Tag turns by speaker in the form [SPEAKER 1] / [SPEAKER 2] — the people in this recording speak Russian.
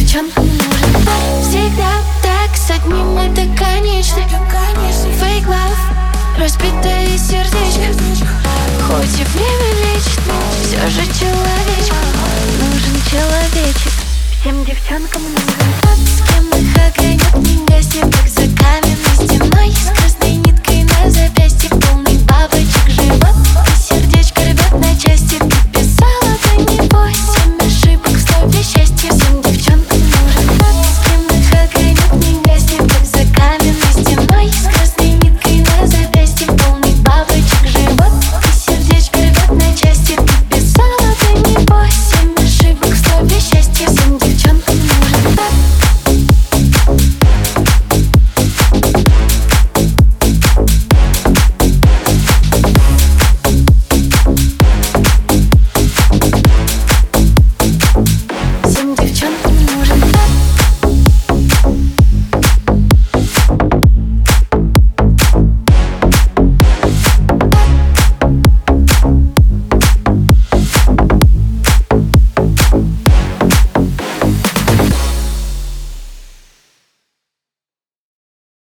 [SPEAKER 1] девчонкам нужен. Всегда так, с одним это конечно. Fake love, разбитое сердечко. Хоть и время лечит, все же человечек. Нужен человечек, всем девчонкам нужен. С кем их огонек не гаснет.